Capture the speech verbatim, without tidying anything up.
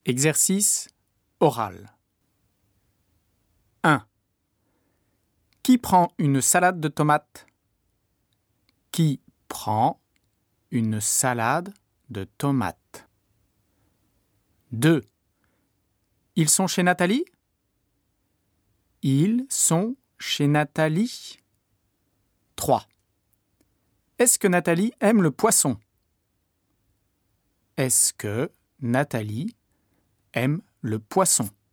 Exercice oral. un. Qui prend une salade de tomates? Qui prend une salade de tomates? deux. Ils sont chez Nathalie? Ils sont chez Nathalie. trois. Est-ce que Nathalie aime le poisson? Est-ce que Nathalie aime le poisson?